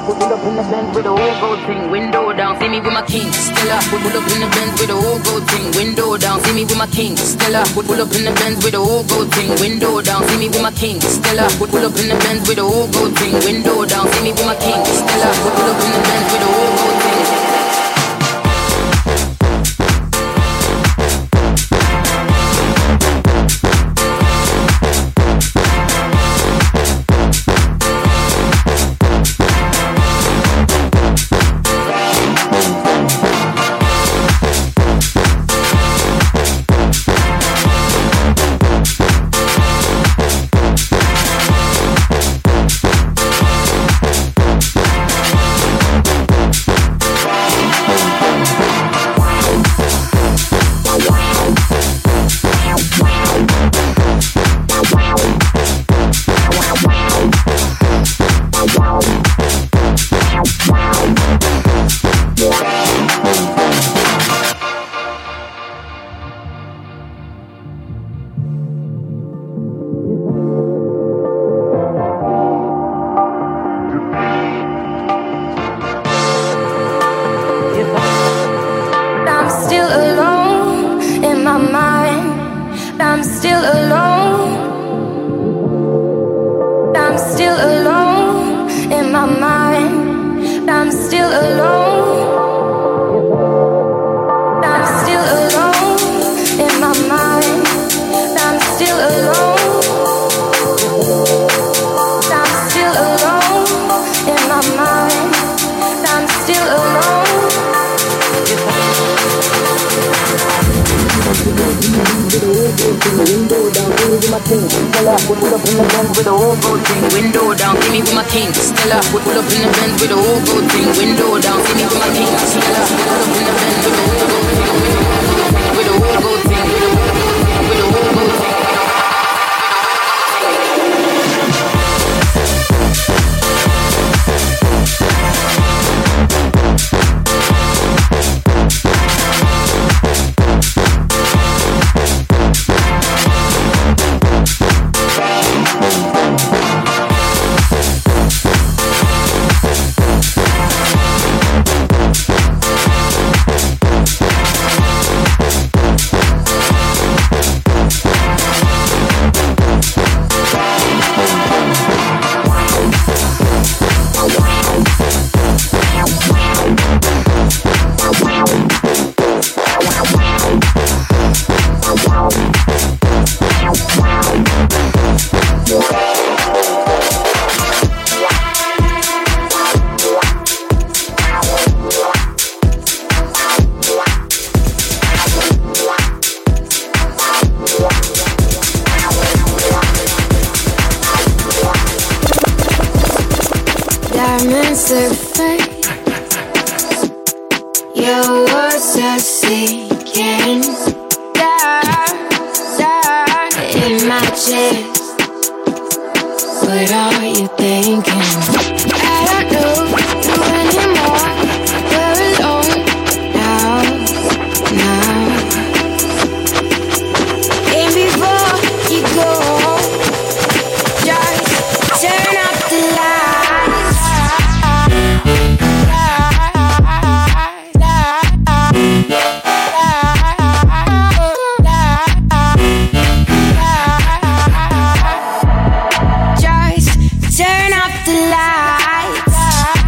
Pull up in the Benz with a whole gold thing, window down, see me with my king. Stella, pull up in the Benz with a whole gold thing, window down, see me with my king. Stella, pull up in the Benz with a whole gold thing, window down, see me with my king. Stella, pull up in the Benz with a whole gold thing, window down, see me with my king. Stella, pull up in the Benz with a whole gold thing. Turn off the lights.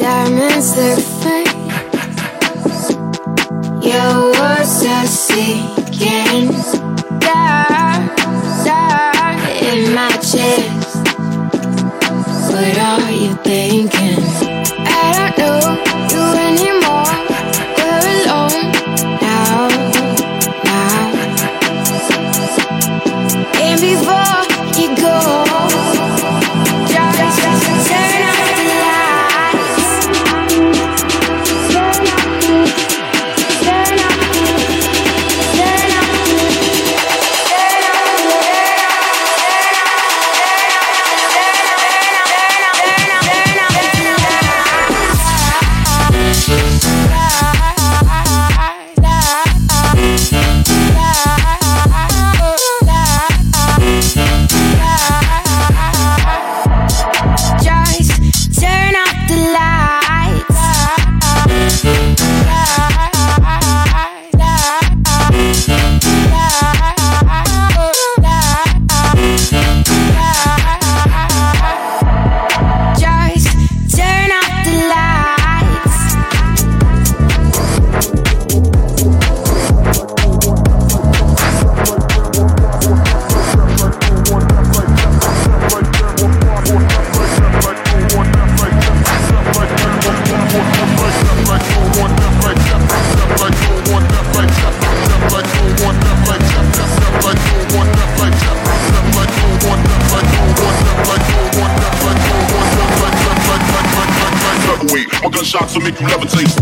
diamonds look fake. Your words are sinking down, down in my chest. What are you thinking? I don't know you anymore. We're alone now, now. And before you go, just turn out the lights. Turn out the shots will make you levitate.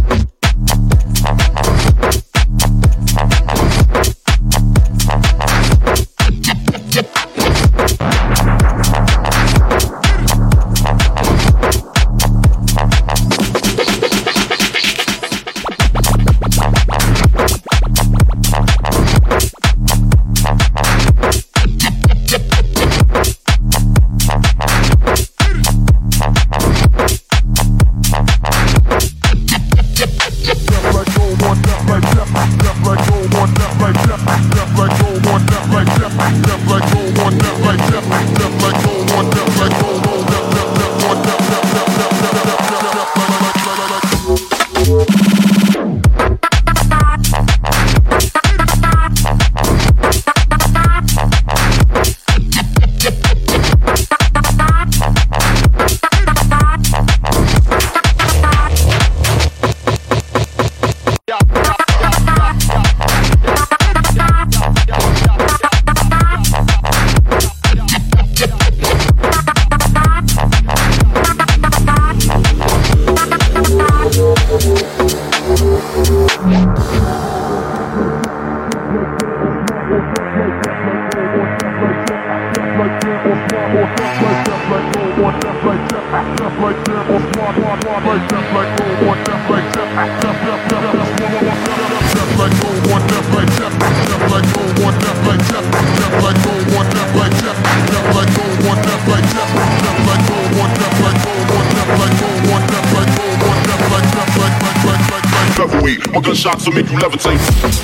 My gunshots will make you levitate.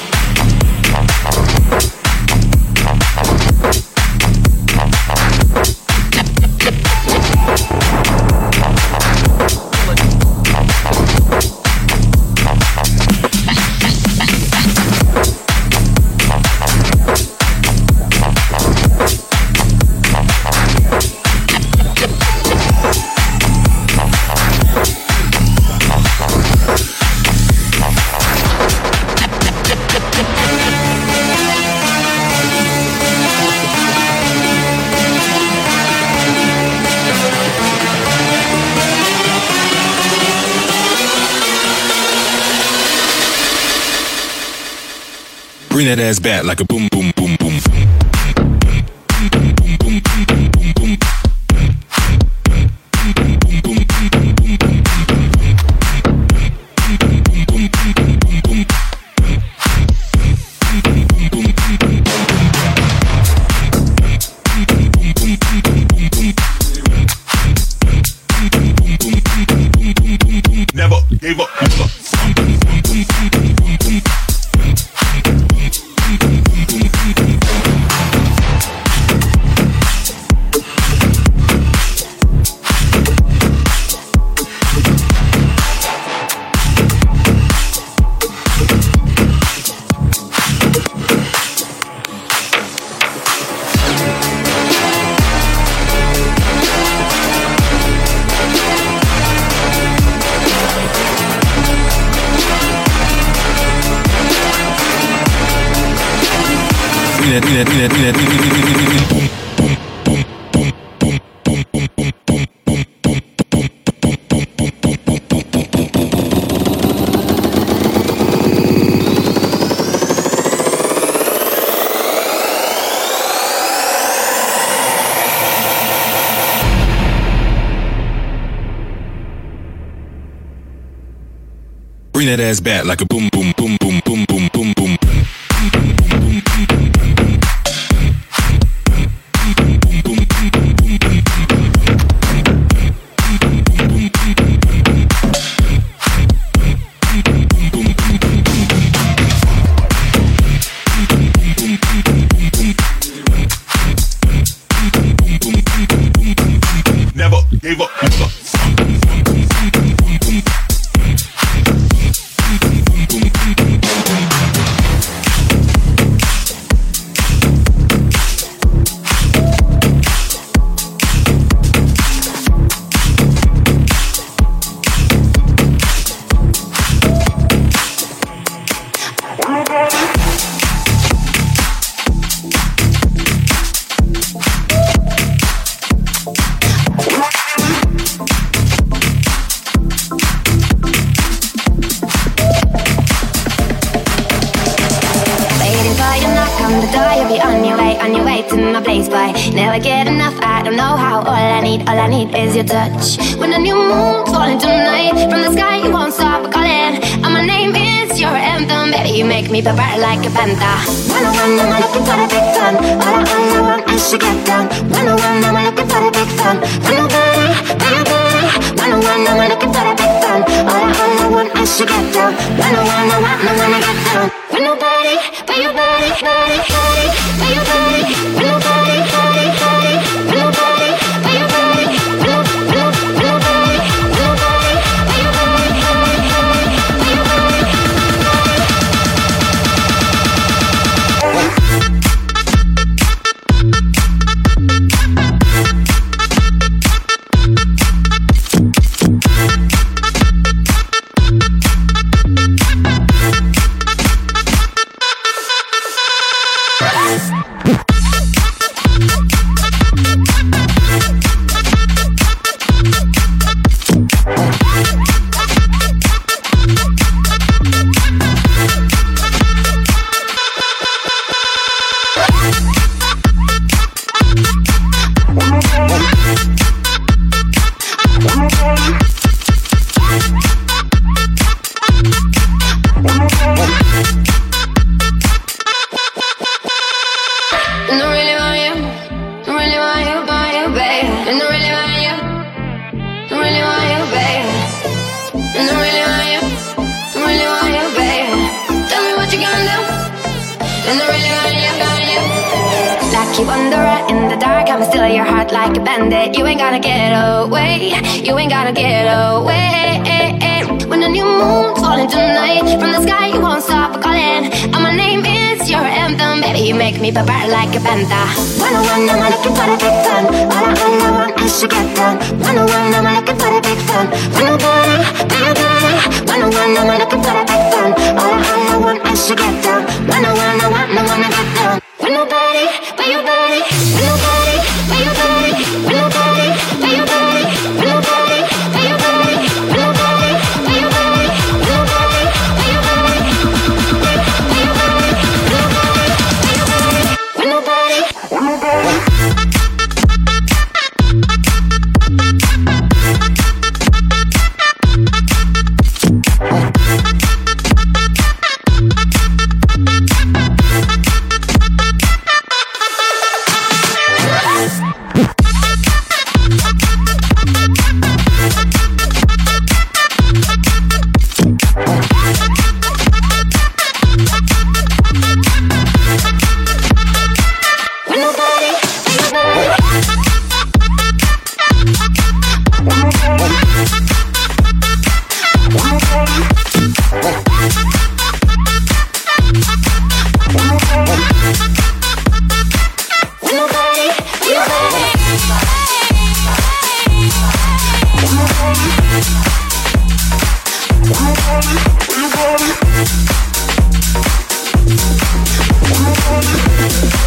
Bring that ass back like a boom, boom, boom, boom. Never gave up. Bring that ass back like a boom, boom, boom, boom, boom, boom, boom, boom. Never gave up. Never get enough, I don't know how. All I need is your touch. When a new moon's falling tonight from the sky, you won't stop calling. And my name is your anthem, baby. You make me vibrate like a panda. When I'm looking for the big fun. All I want is to get down. When I'm looking for the big fun. When I'm looking for the big fun. All I want is to get down. When I wanna get down. When nobody, but your body, body, body, but your body, when nobody, body, body, when nobody, but your body, when nobody, when nobody, but your body, body, body, but your body. Keep wandering in the dark, I'm still your heart like a bandit. You ain't gonna get away, you ain't gonna get away. When a new moon's falling tonight from the sky, you won't stop calling. And my name is your anthem, baby. You make me vibrate like a panda. When I'm looking for the big fun. All I want is to get down. When I'm looking for the big fun. When nobody, when I'm looking for the big fun. All I want is to get down. When I wanna get down. When nobody, but your body, when nobody, but your body, when nobody, but your body, when nobody, but your body, when nobody, but your body, when nobody, but your body, but your body, when nobody, when nobody. We'll be right back.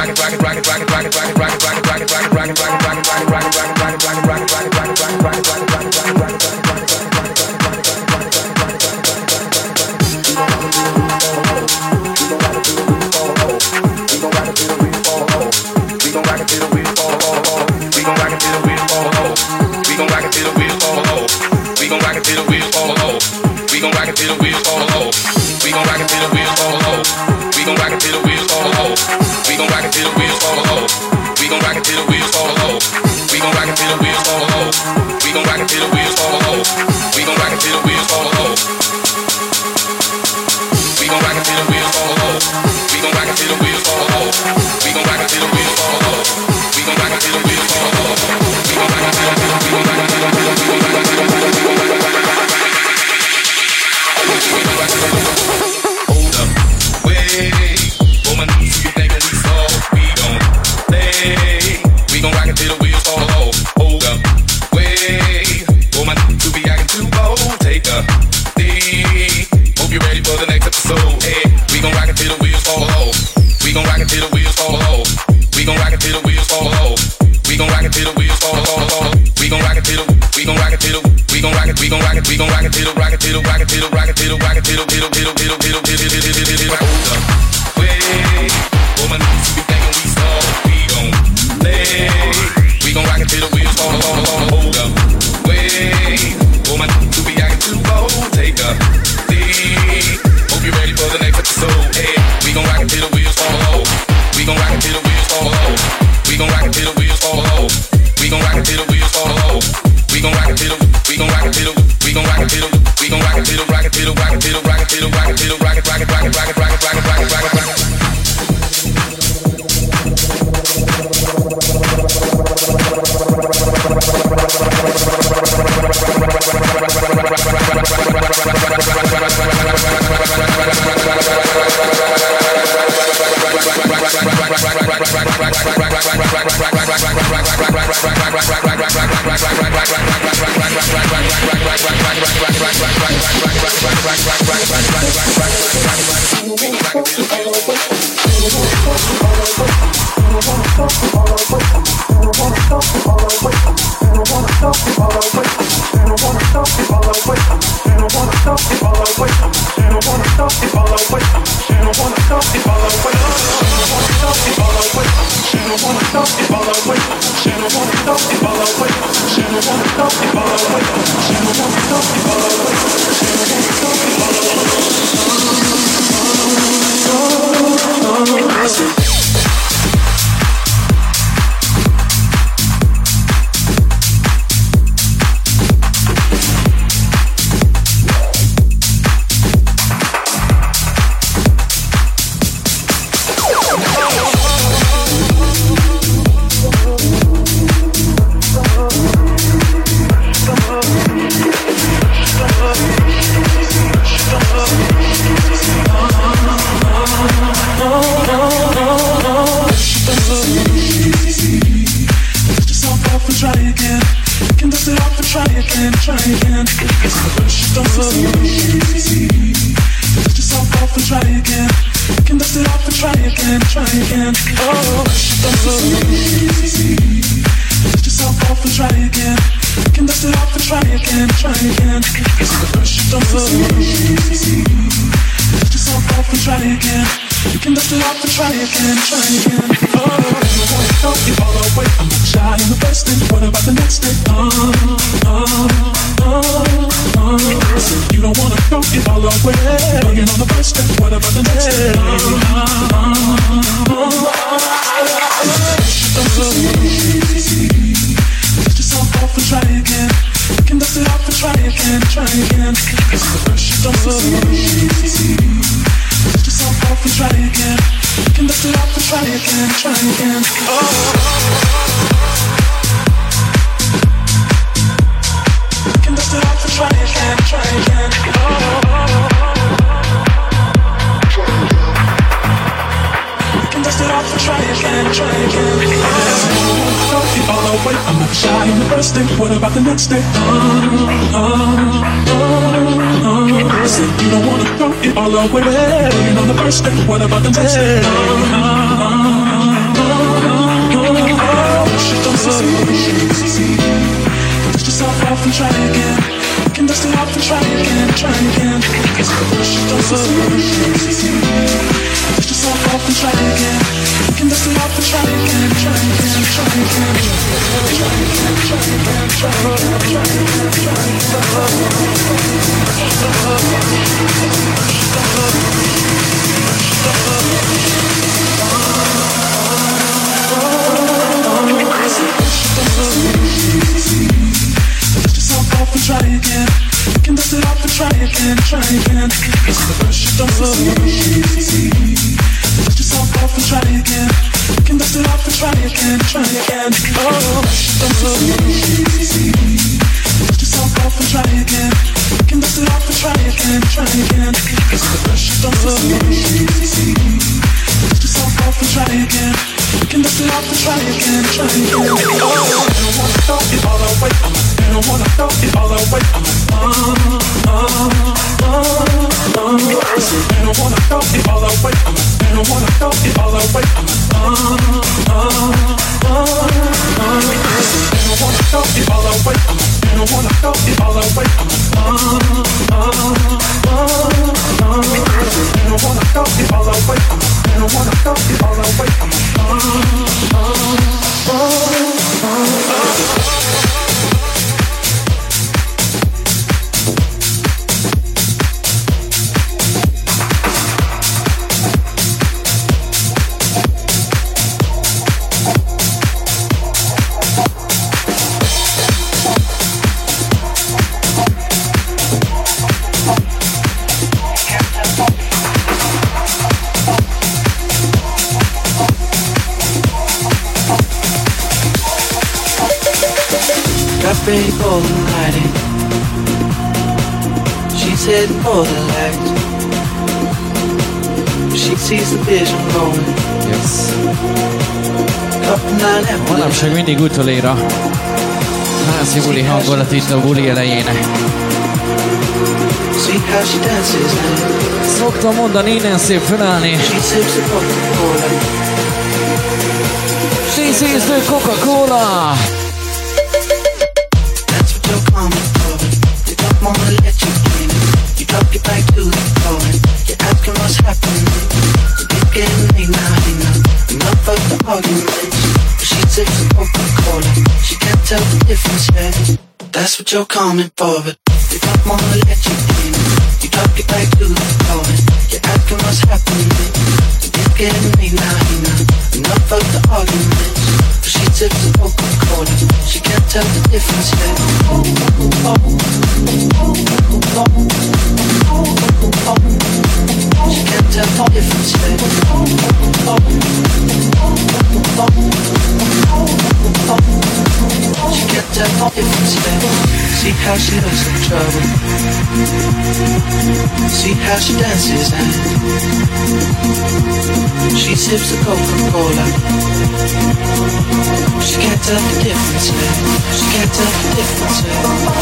We gon' rock it till the wheels fall off. till the wheels fall off. We gon' rock it till the wheels fall off. We gon' rock it till the we gon' rock it till the we gon' rock it till the rock it till the rock it till the rock it till the rock it till the rock it till the rock it till the hold up. Wait, woman, you be thinking we soft, we gon' play. We gon' rock it till the wheels fall off. Hold up. Wait, woman, you be acting too bold. Take a seat. Hope you're ready for the next episode. Hey, we gon' rock it till the wheels fall off. We gon' rock it till the wheels fall off. We gon' rock it till the wheels fall off. We gon' rock it till the wheels fall off. We gon' rock it till the we gon' rock it till the we gon' rock it till the we gon' rock it till the rock it till the rock it till the rock it till the rock it till the rock it rock it rock it rock it rock it rock it rock it rock it rock it. What about the next day? Dust yourself off and try again. You can dust it off and try again, try again. Dust yourself off and try again. You can dust it off and try again, try again, try again. Try again, try again, try again, try again, try Dust yourself off and try again. You can dust it off and try again, try again. Dust yourself off and try again. You can dust it off and try again, try again. Dust yourself off and try again. You can dust it off and try again, try again. Dust yourself off and try again. You can dust it off and try again, try again. I don't wanna throw it all away. I don't wanna throw it all away. I don't wanna throw it all away. I don't wanna throw it all away. got ready for the night. She's heading for the light. She sees the vision rolling. Yes. Manapság mindig utolér a házi buli hangulat itt a buli elején. Szoktam mondani, innen szép felállni. She sees the Coca-Cola. That's what you're coming for. You don't wanna let you in. You drop your back to the floor. You're asking what's happening. You keep getting me now, enough of the arguments. She sips the Coca-Cola. She can't tell the difference yet. That's what you're coming for, but they don't wanna let you in. You drop your back to the floor. You're asking what's happening. You keep getting me now, enough of the arguments. She sips the Coca-Cola. She can't tell the difference yet. She can't tell the difference yet. She can't tell the difference yet. See how she looks in trouble. See how she dances and she sips the Coca-Cola. She can't tell the difference yet. She can't tell the difference yet.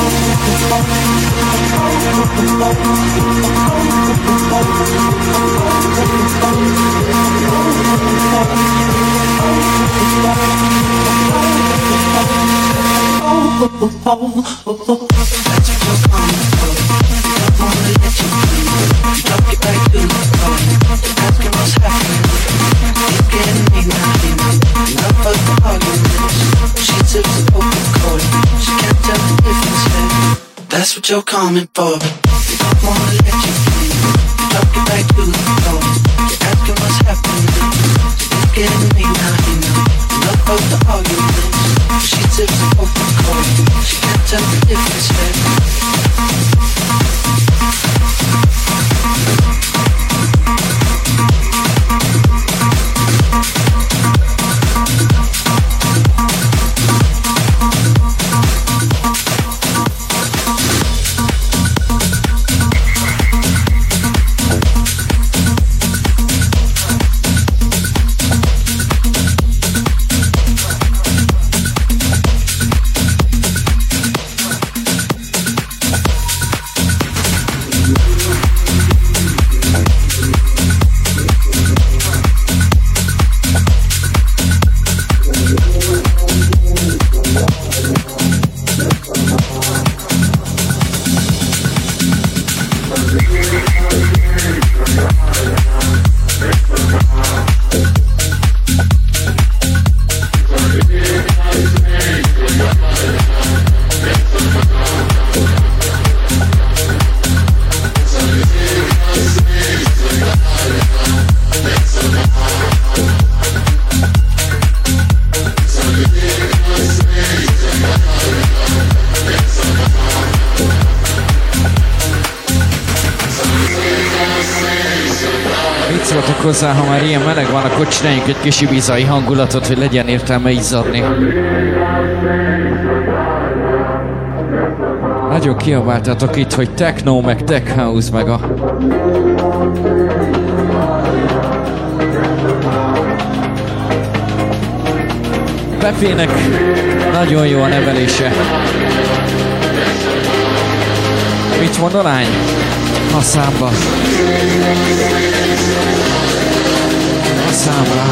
That's what you're coming for, but they don't wanna let you in. You drop your back to the floor. You're asking what's happening. You're getting me now, enough of the arguments. She sips the Coca-Cola. She can't tell the difference yet. Hozzá, ha már ilyen meleg van, akkor csináljunk egy kis ibizai hangulatot, hogy legyen értelme izzadni. Nagyon kiabáltatok itt, hogy techno, meg tech house, meg a... Pepének nagyon jó a nevelése. Mit mond a lány? A számba. A számra.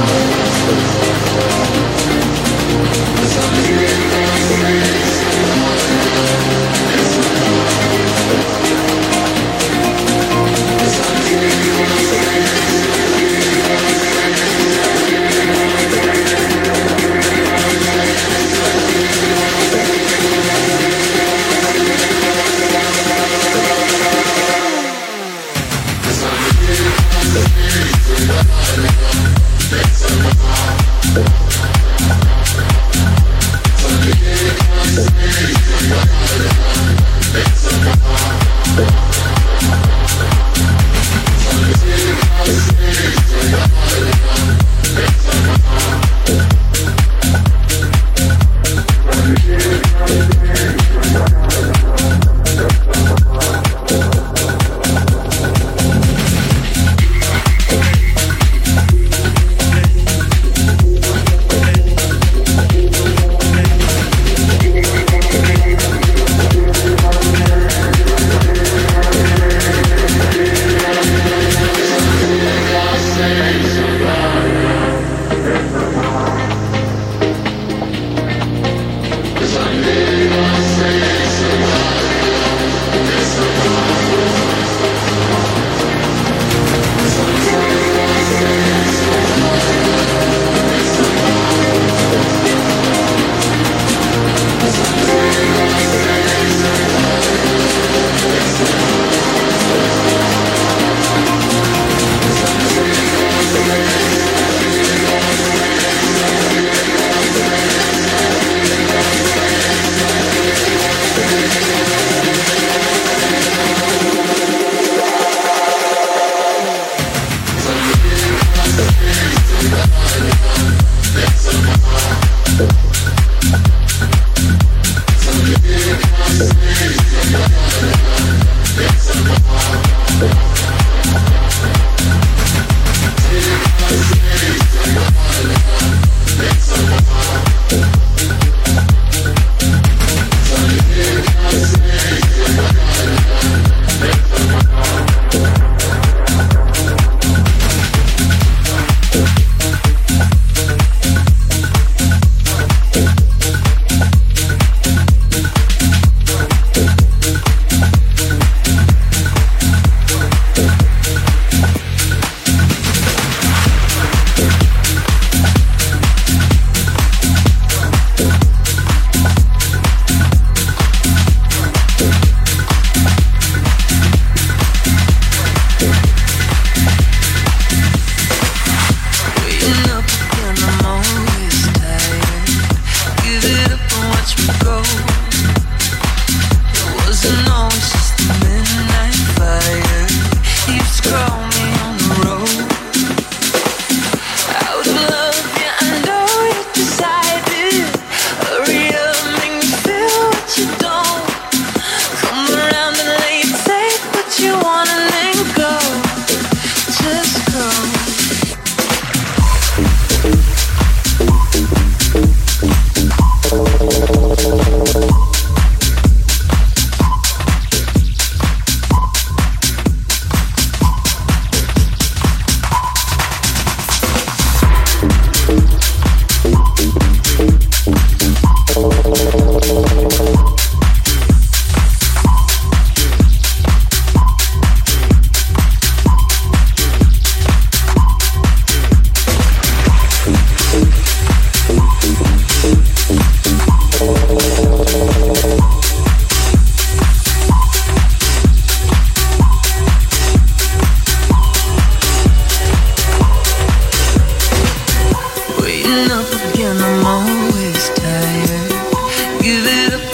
Waiting up again, I'm always tired. Give it up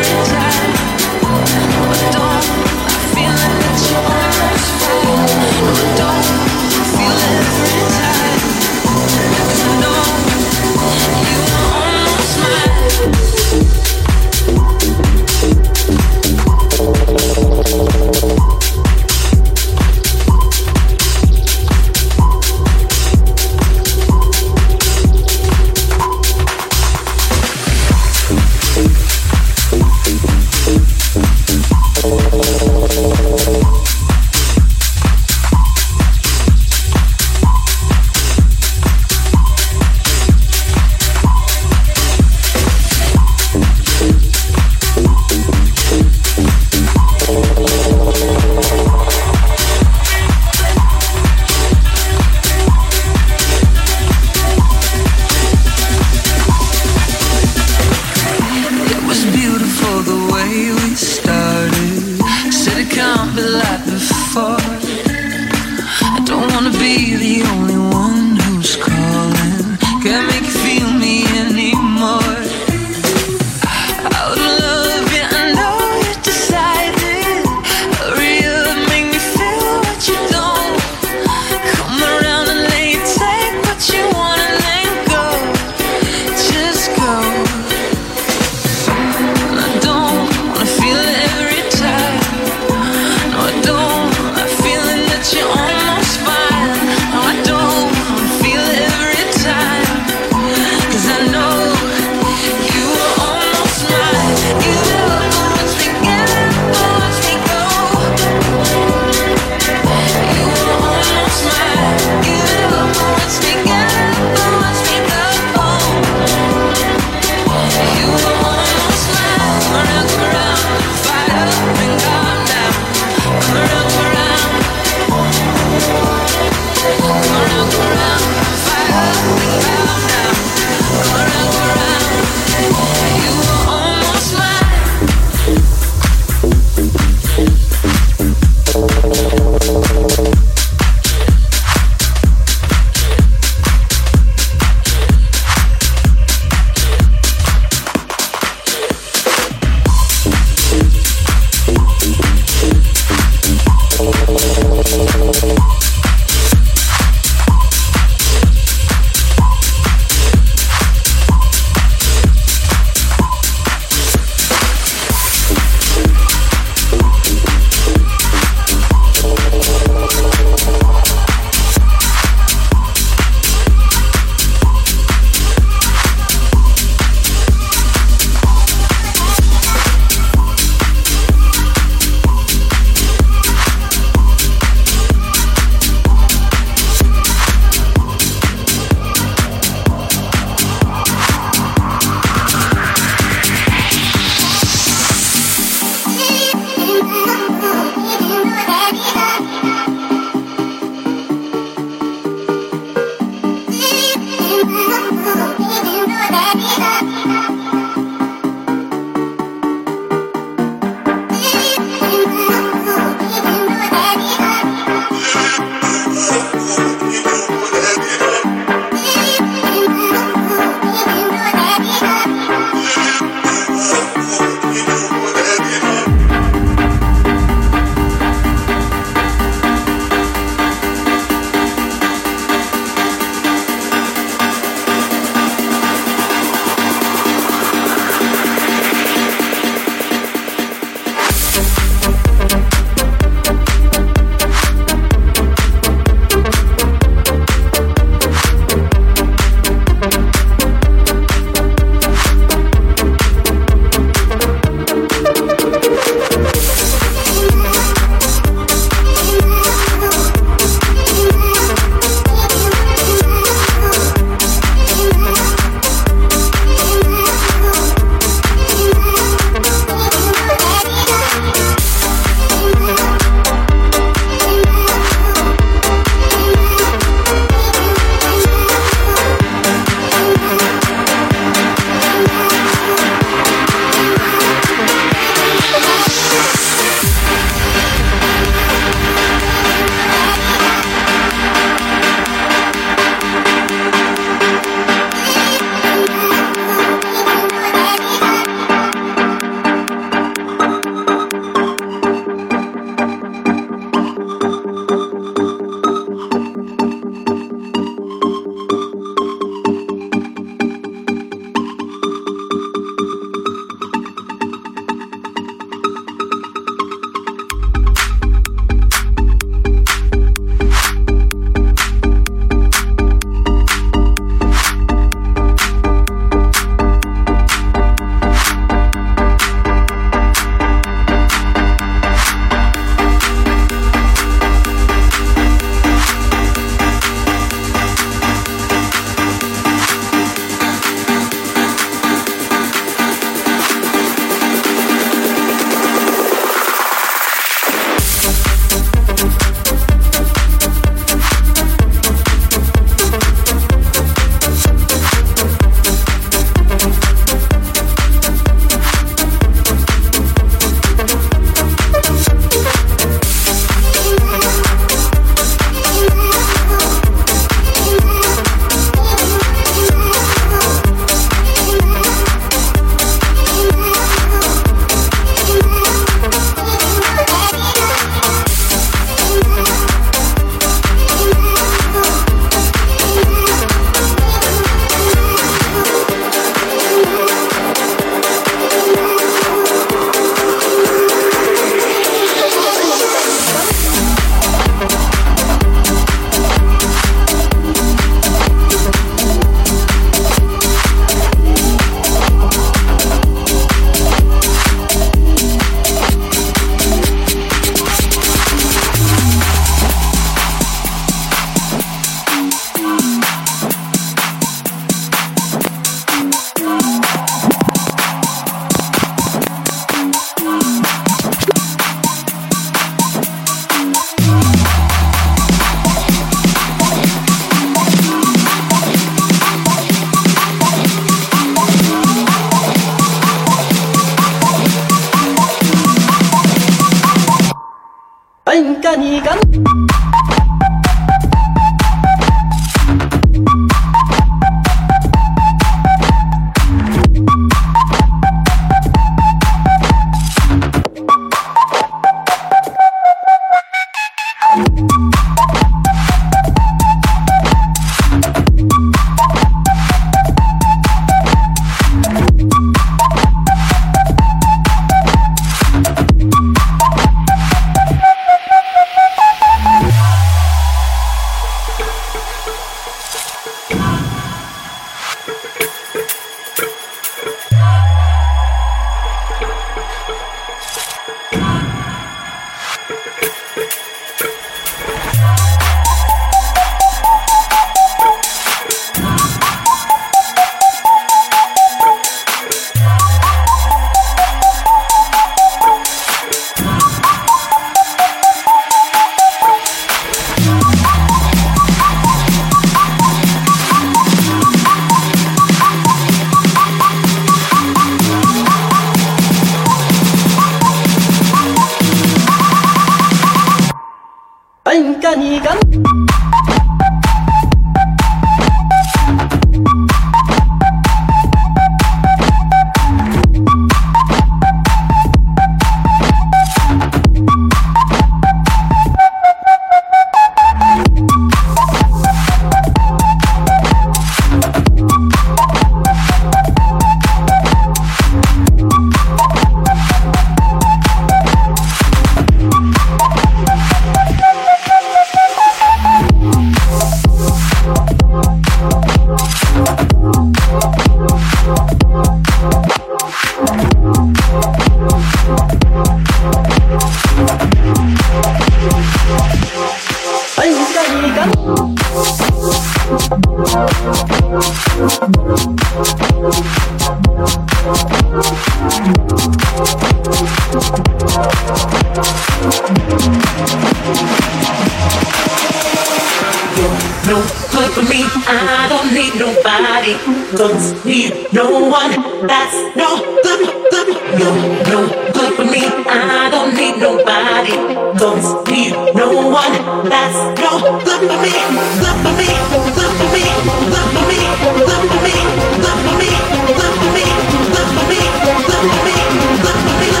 Don't need no one, that's no good. You're no good for me, I don't need nobody. Don't need no one, that's no good for me. Good for me, good for me, good for me, good for me, good for me, good for me, good for me, good for me, good for me.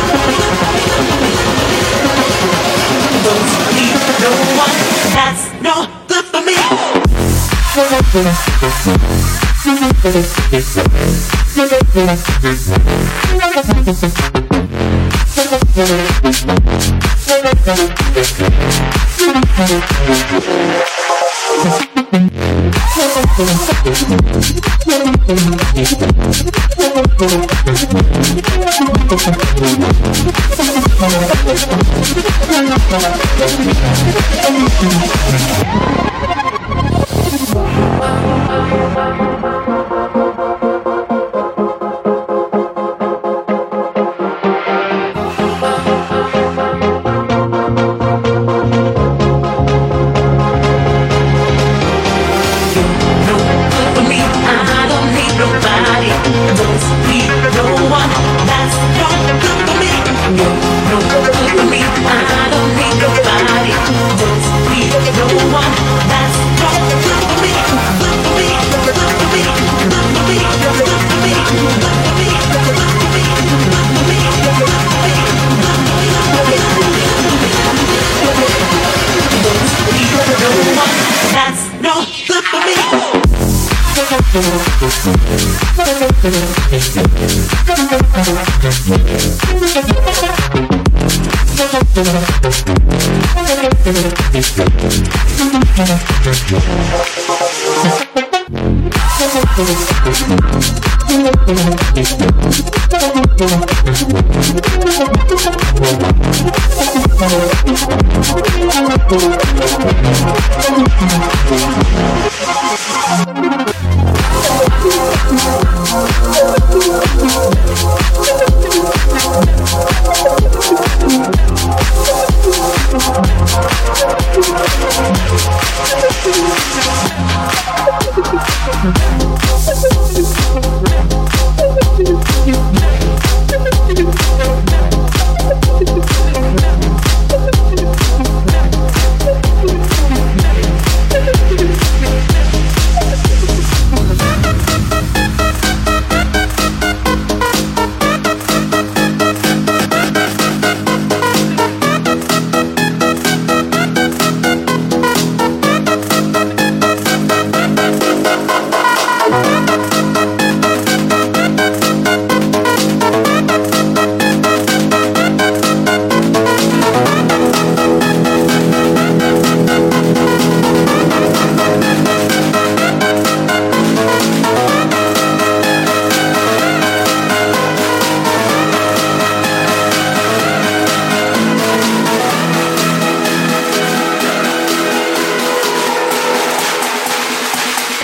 Don't need no one, that's no good for me.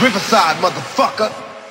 Riverside, motherfucker.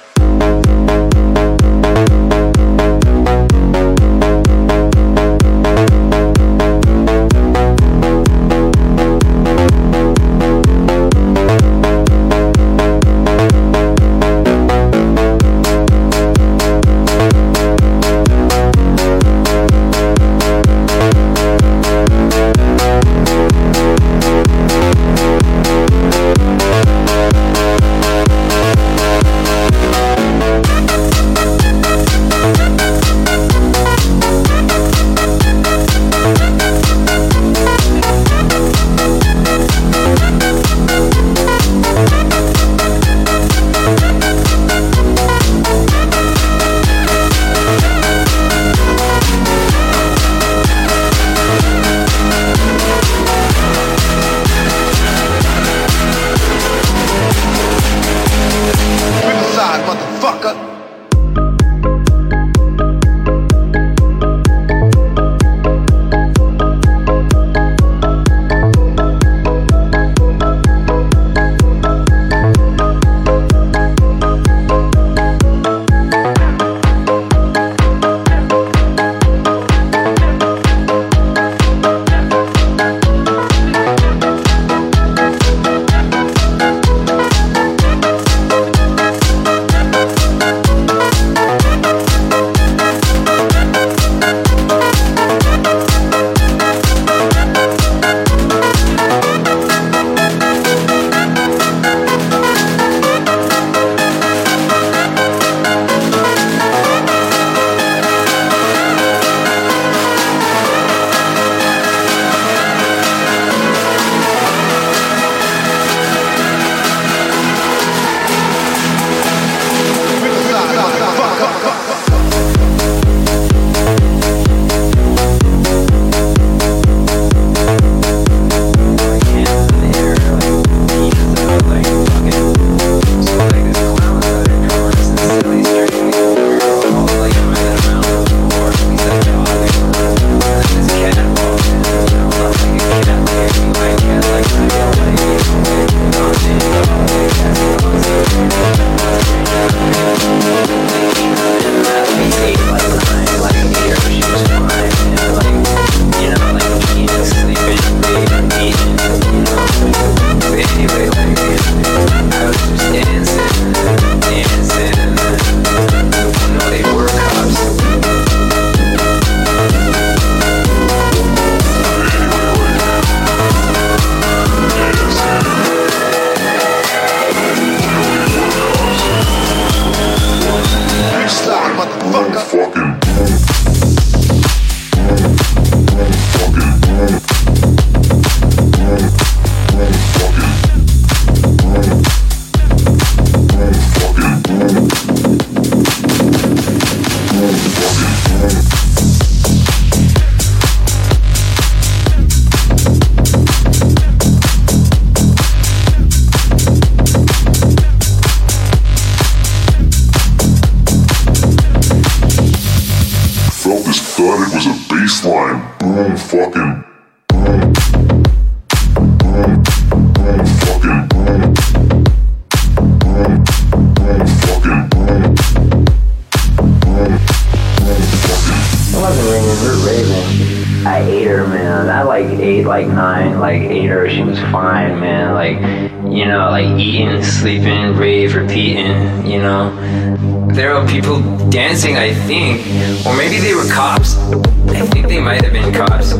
Sleeping, rave, repeating, you know. There were people dancing, I think, or maybe they were cops. I think they might have been cops.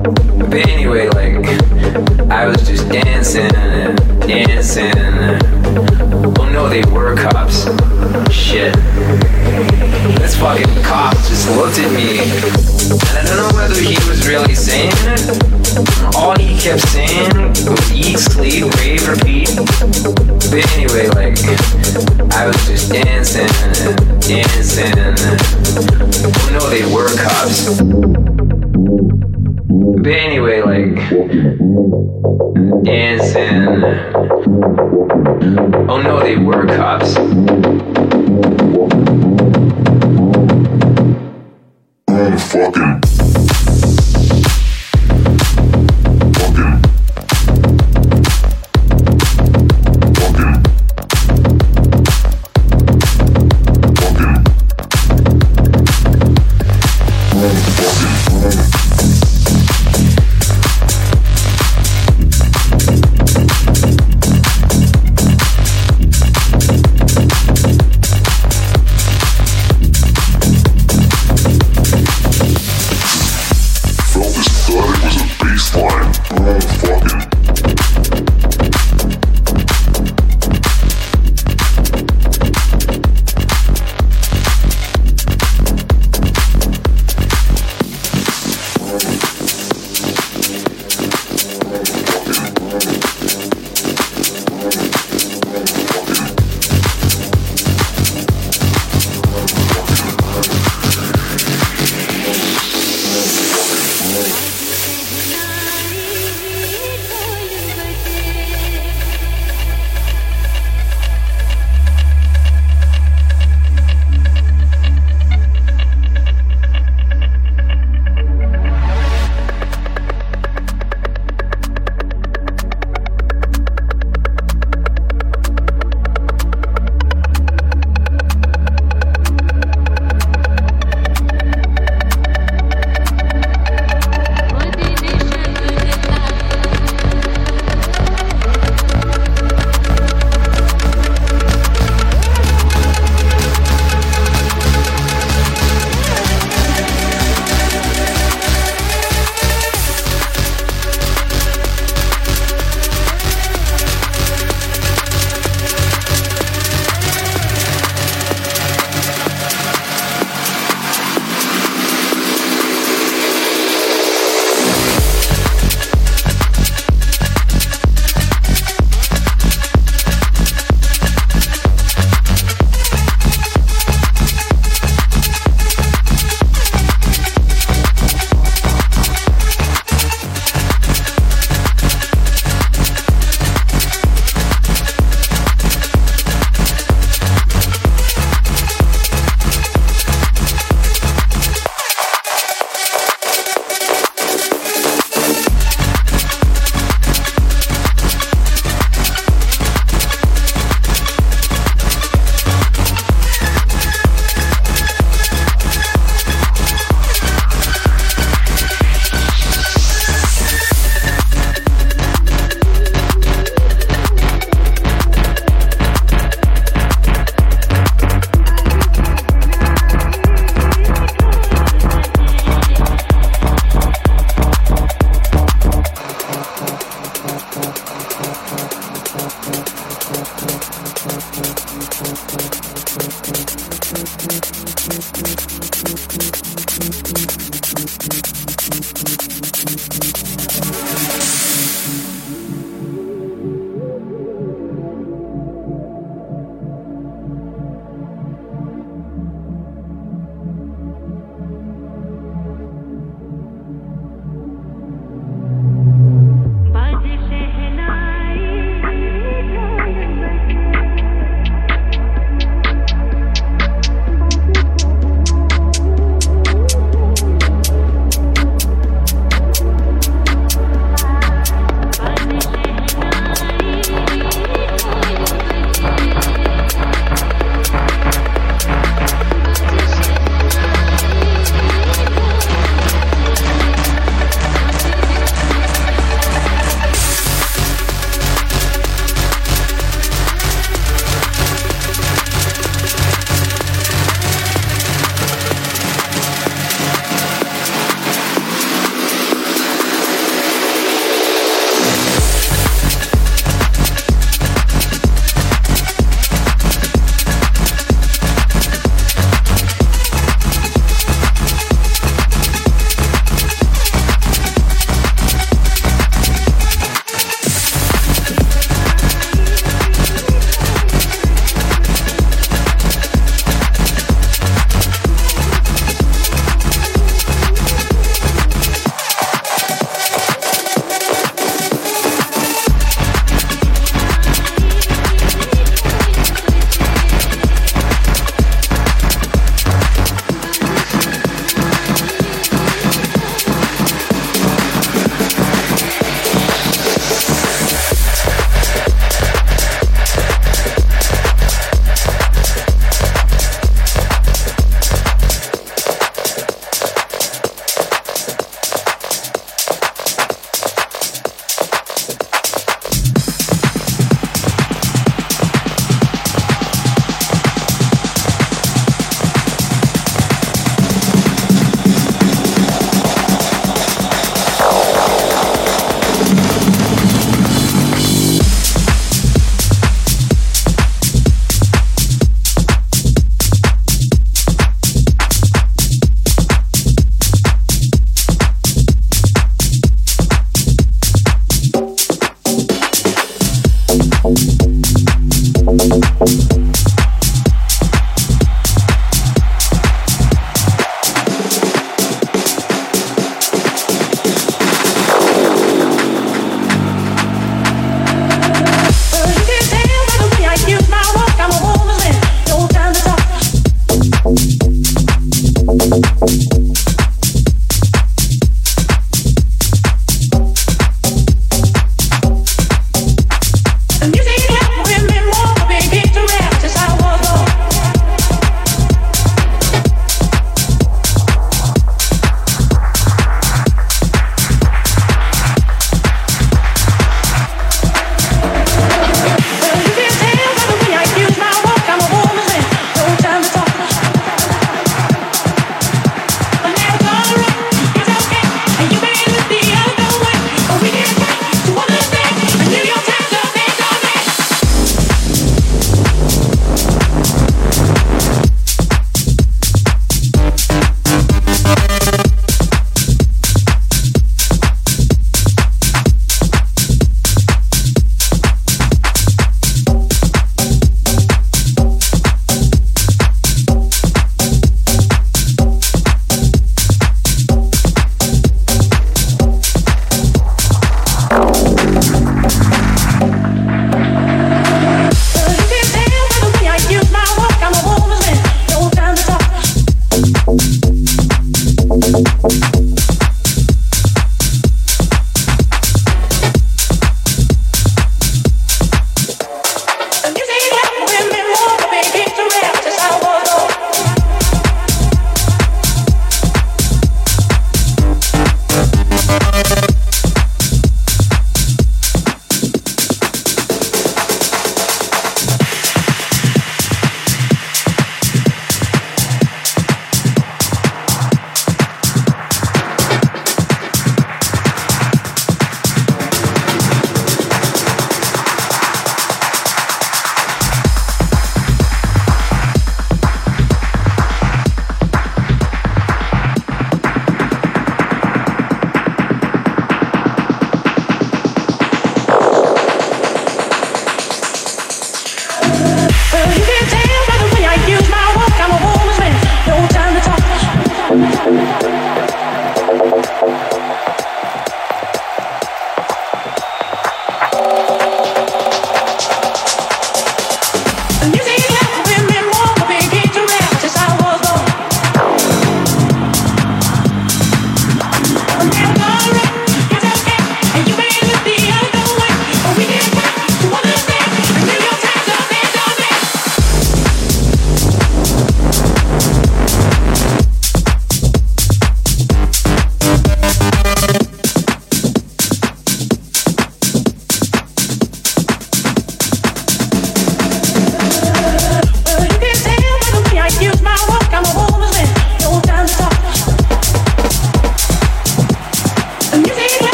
But anyway, like, I was just dancing and dancing. Oh no, they were cops. Shit. This fucking cop just looked at me, and I don't know whether he was really saying it. All he kept saying was eat, sleep, rave, repeat. But anyway, like, I was just dancing and dancing. Oh no, they were cops. But anyway, like, dancing. Oh no, they were cops. Fucking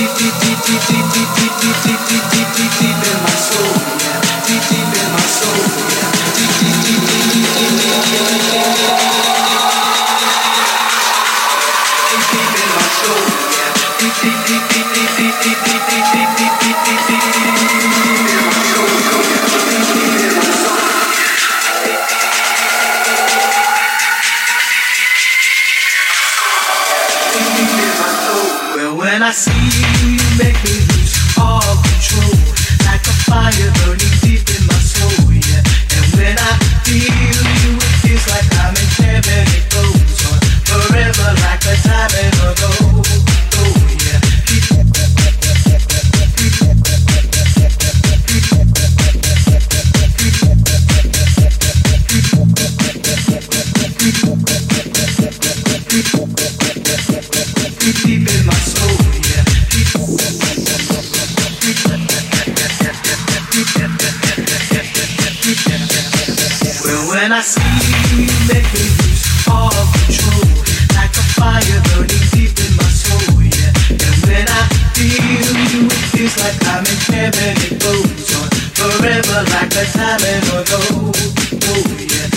When I see you, you make me lose all control, like a fire burning deep in my soul, yeah. And when I feel you, it feels like I'm in heaven. It goes on forever, like a diamond ago. Oh yeah. Deep in my soul, yeah. Well, when I see you, you make me lose all control, like a fire burning deep in my soul, yeah. And when I feel you, it feels like I'm in heaven. It goes on forever, like a diamond or gold. Oh yeah.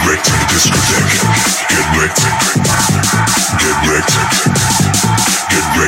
Get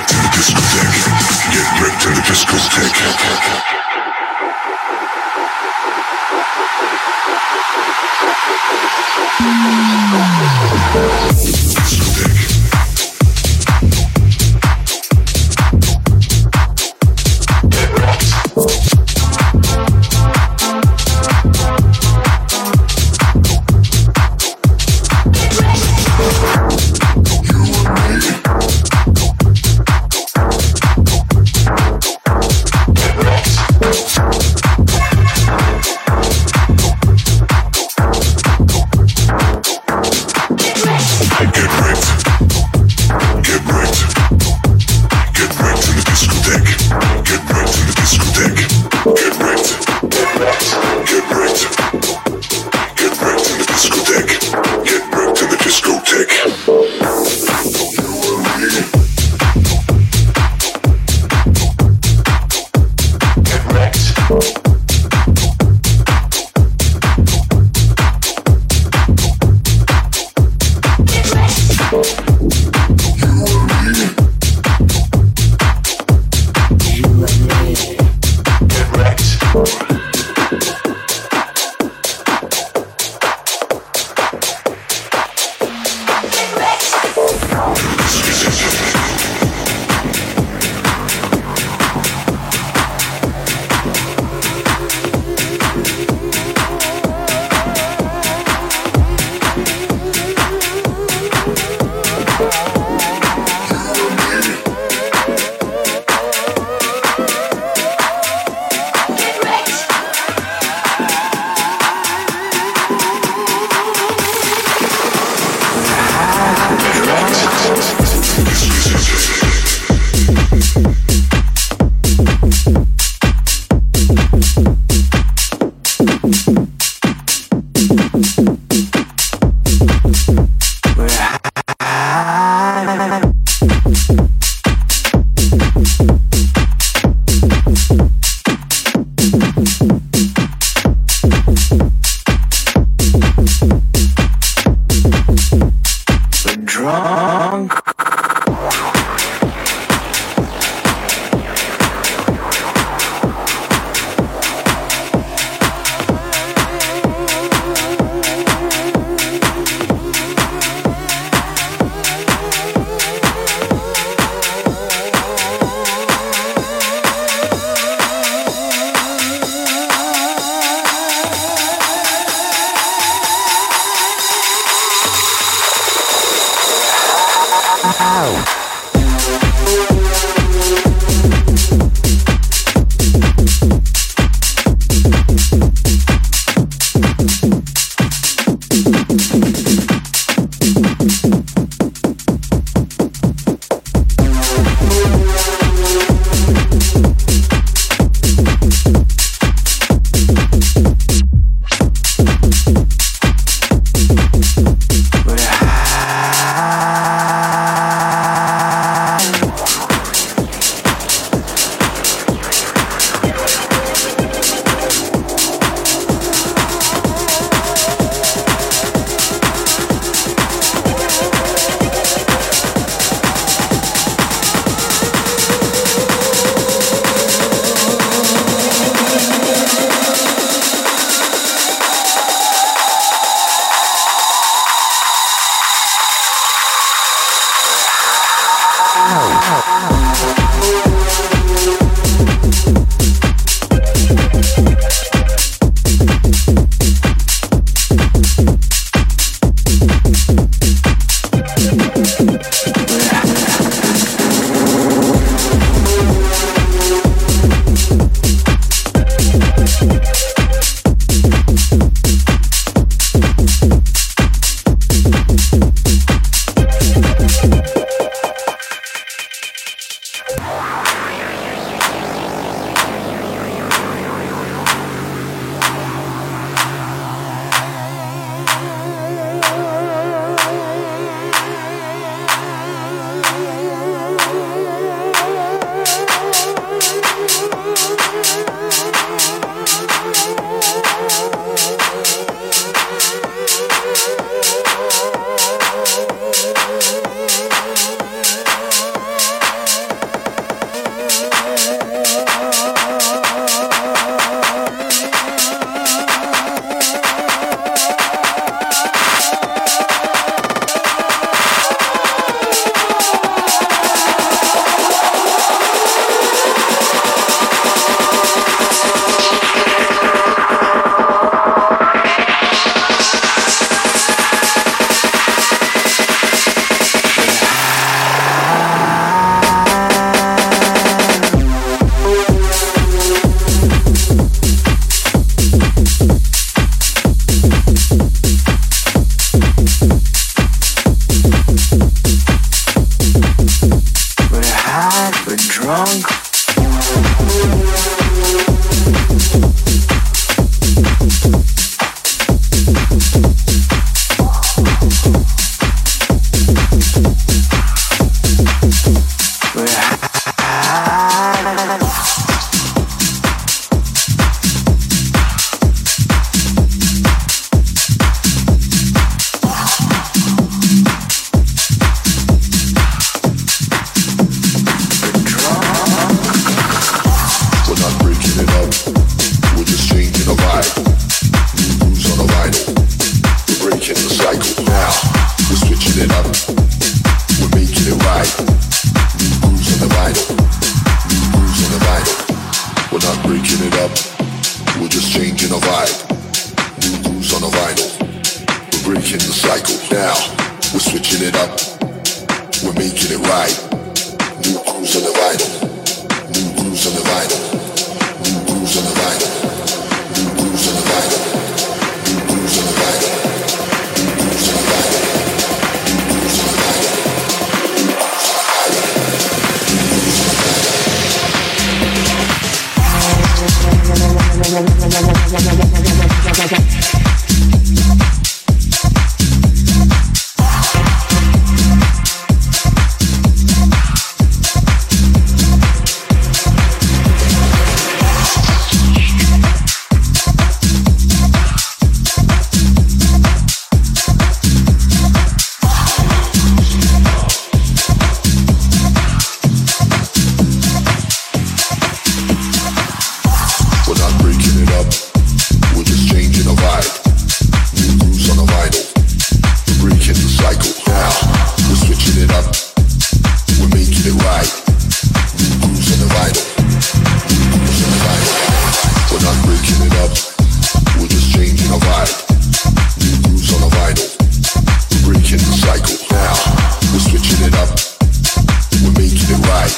We're making it right.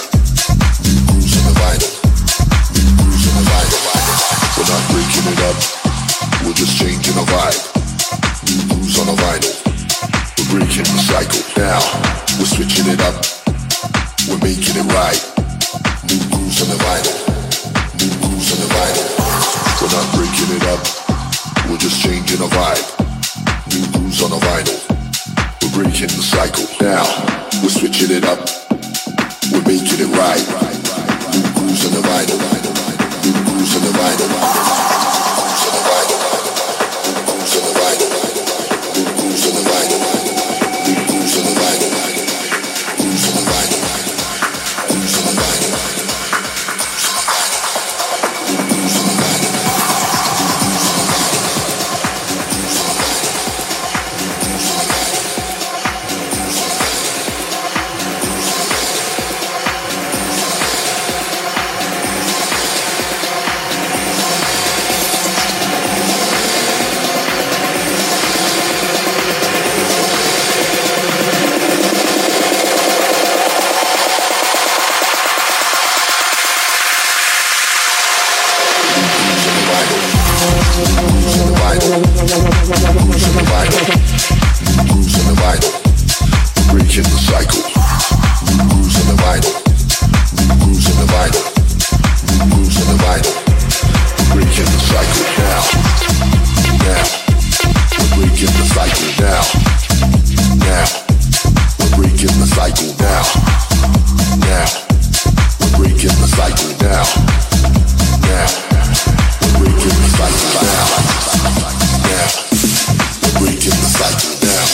up. We're making it right. New grooves on the vinyl. New grooves on the vinyl. We're not breaking it up. We're just changing the vibe. New grooves on the vinyl. We're breaking the cycle. Now, we're switching it up. We're making it right. New grooves on the vinyl. New grooves on the vinyl. New grooves on the vinyl. New grooves on the vinyl. New grooves on the vinyl. New grooves on the vinyl. Grooves on the vinyl. Grooves on the vinyl. New grooves on the vinyl. Breaking the cycle. New grooves on the vinyl. New grooves on the vinyl. New grooves on the vinyl. Breaking the cycle now. Now. We're breaking the cycle now. Now. We're breaking the cycle now. Now. We're breaking the cycle now. Now. We're breaking the cycle now. Now. We're breaking the cycle now.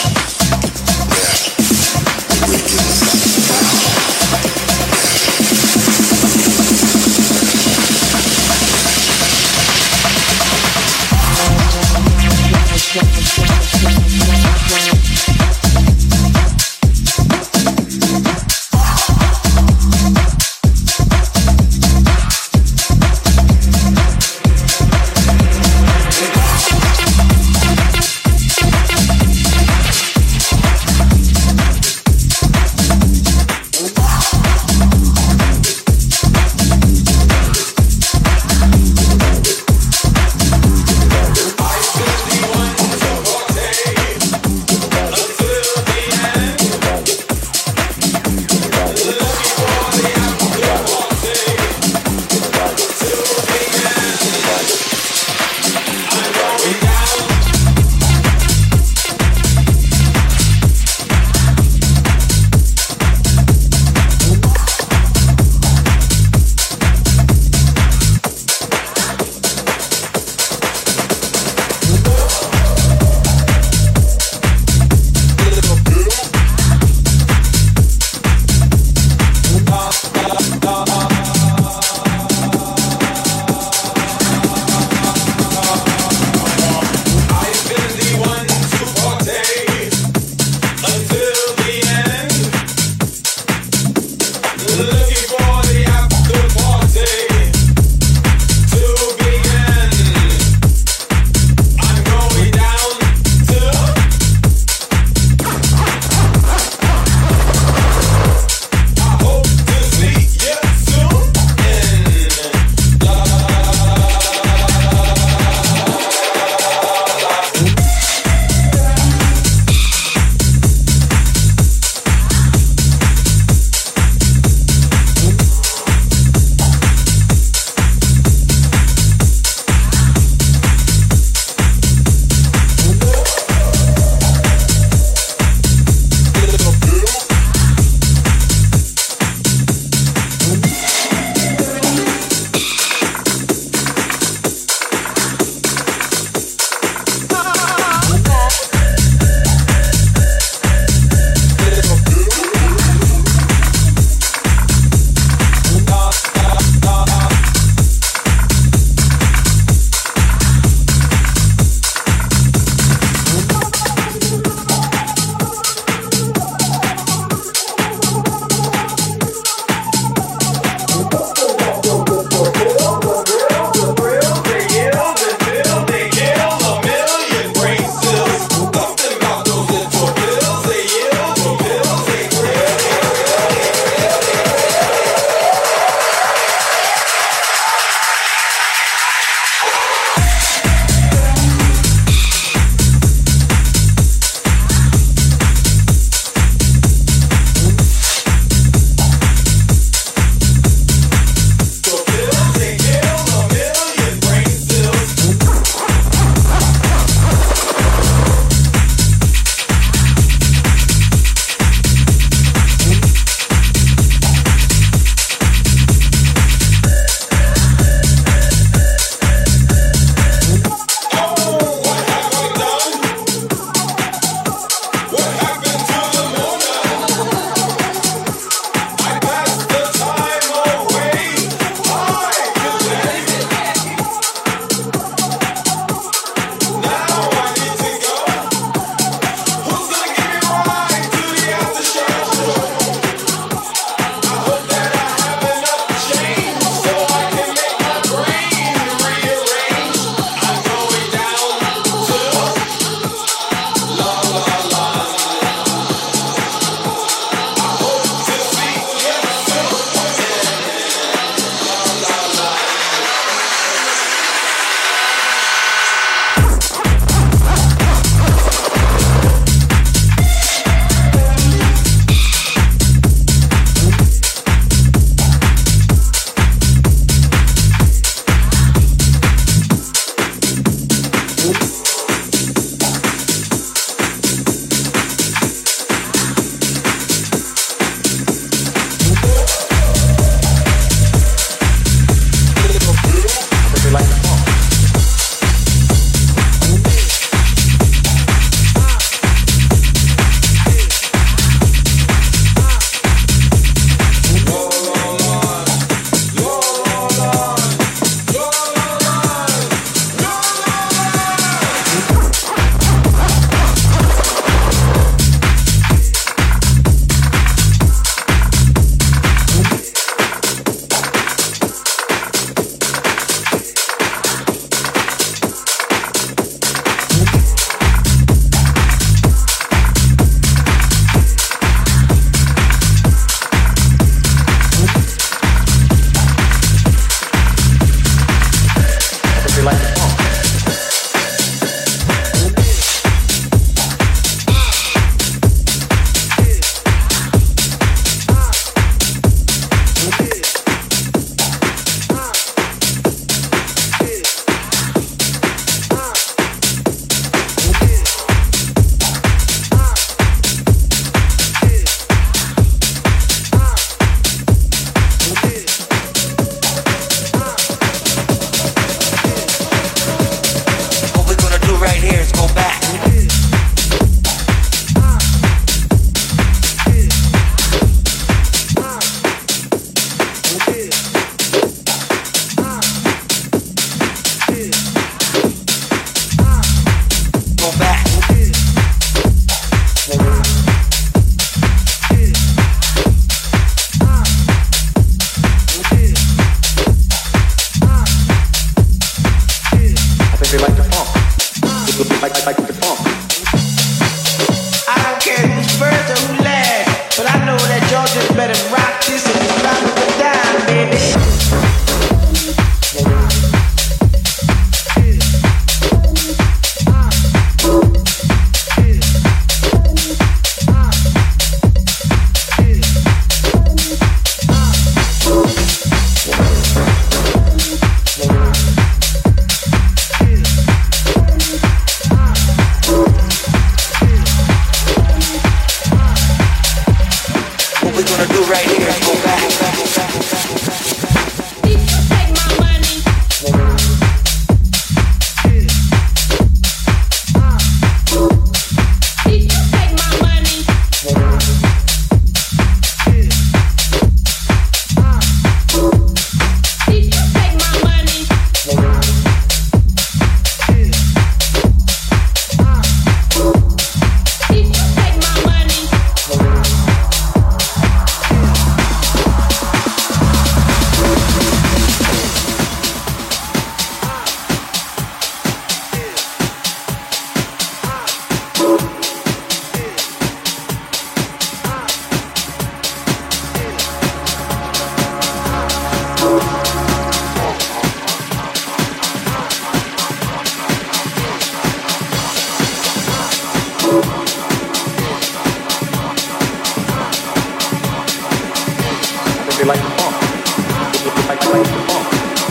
they like the funk. Like the funk.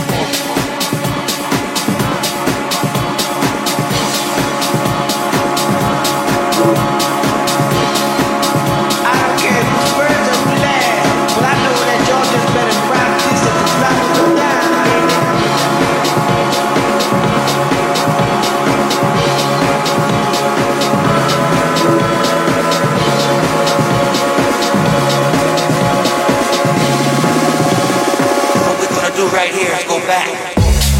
Right here, let's go back.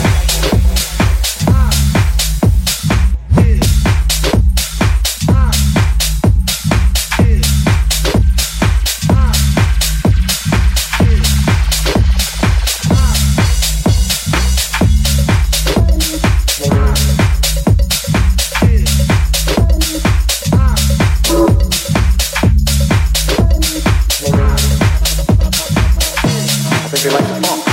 I think they like the funk.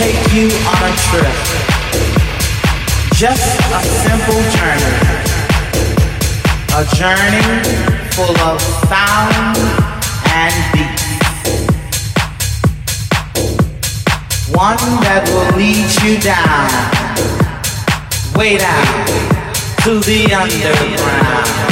take you on a trip. Just a simple journey. A journey full of sound and beat. One that will lead you down, way down to the underground.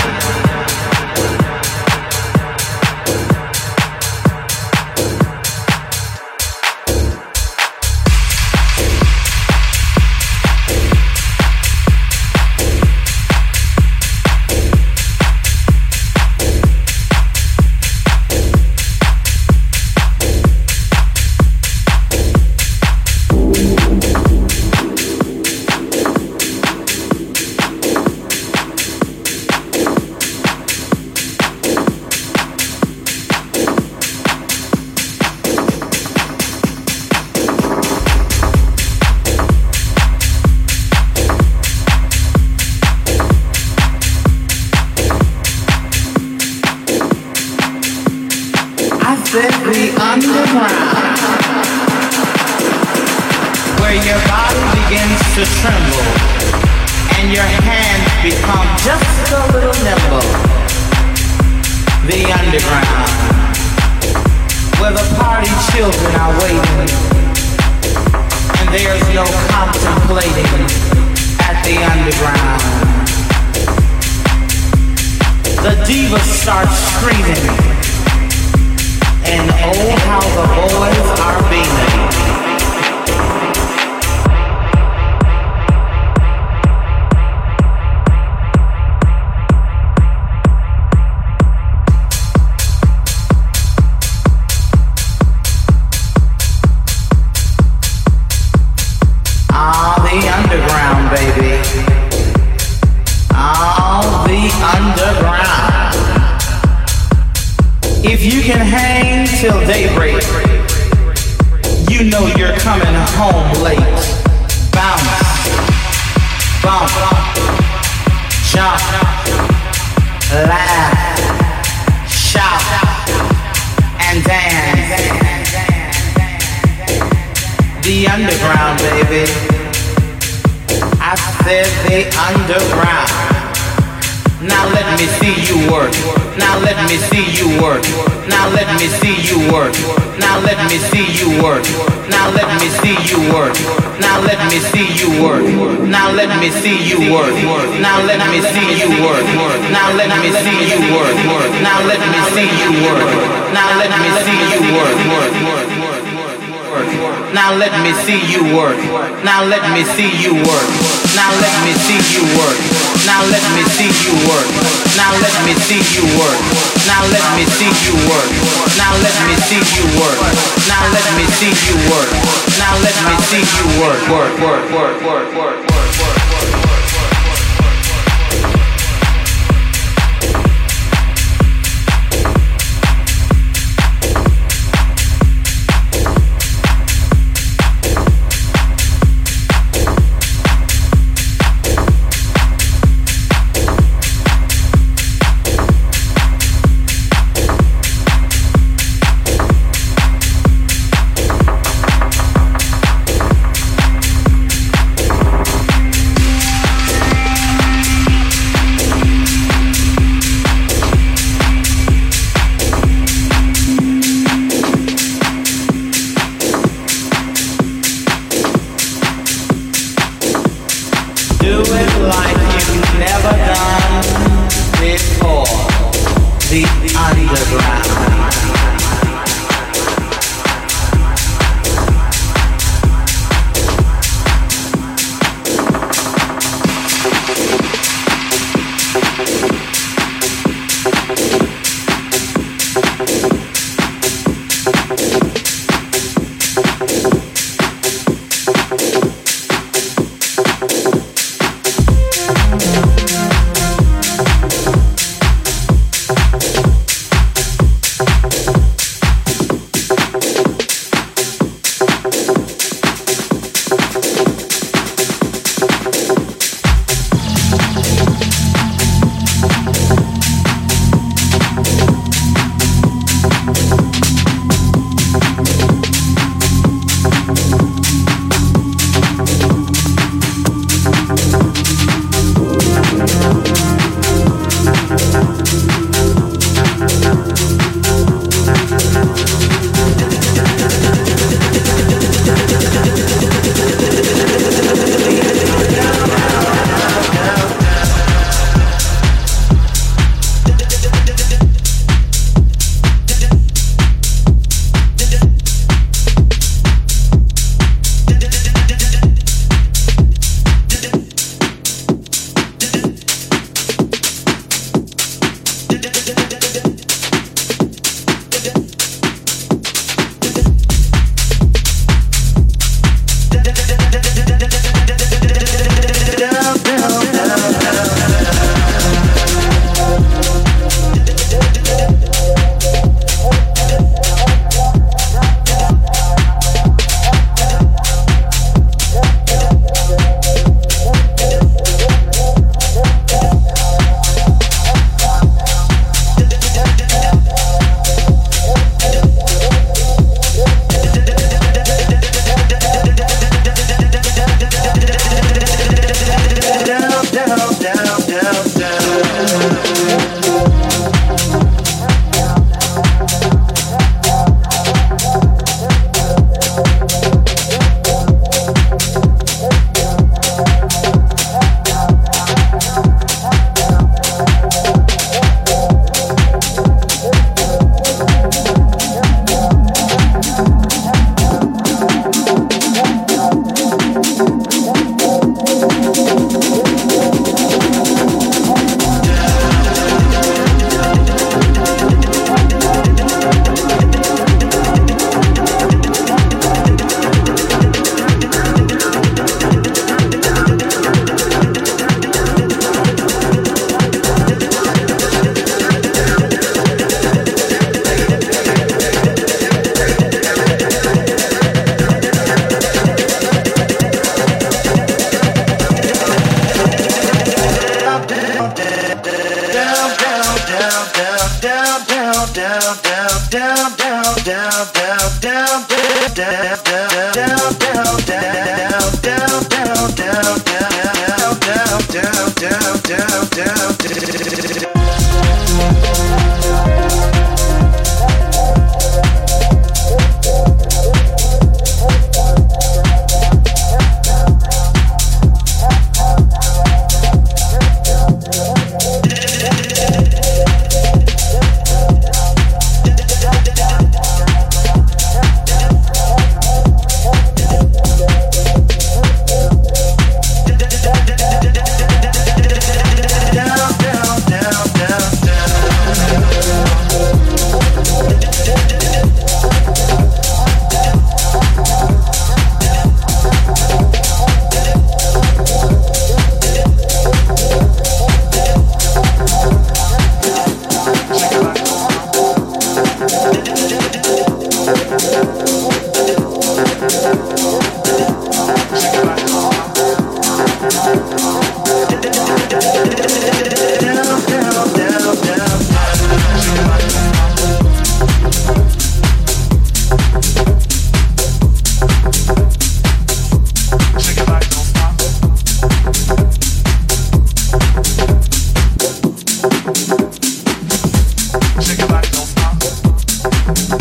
Now let me see you work. Now let me see you work. Now let me see you work. Now let me see you work. Now let me see you work. Now let me see you work. Now let me see you work. Now let me see you work. Now let me see you work. Work, work, work, work, work, work, work. Shake your body, don't stop.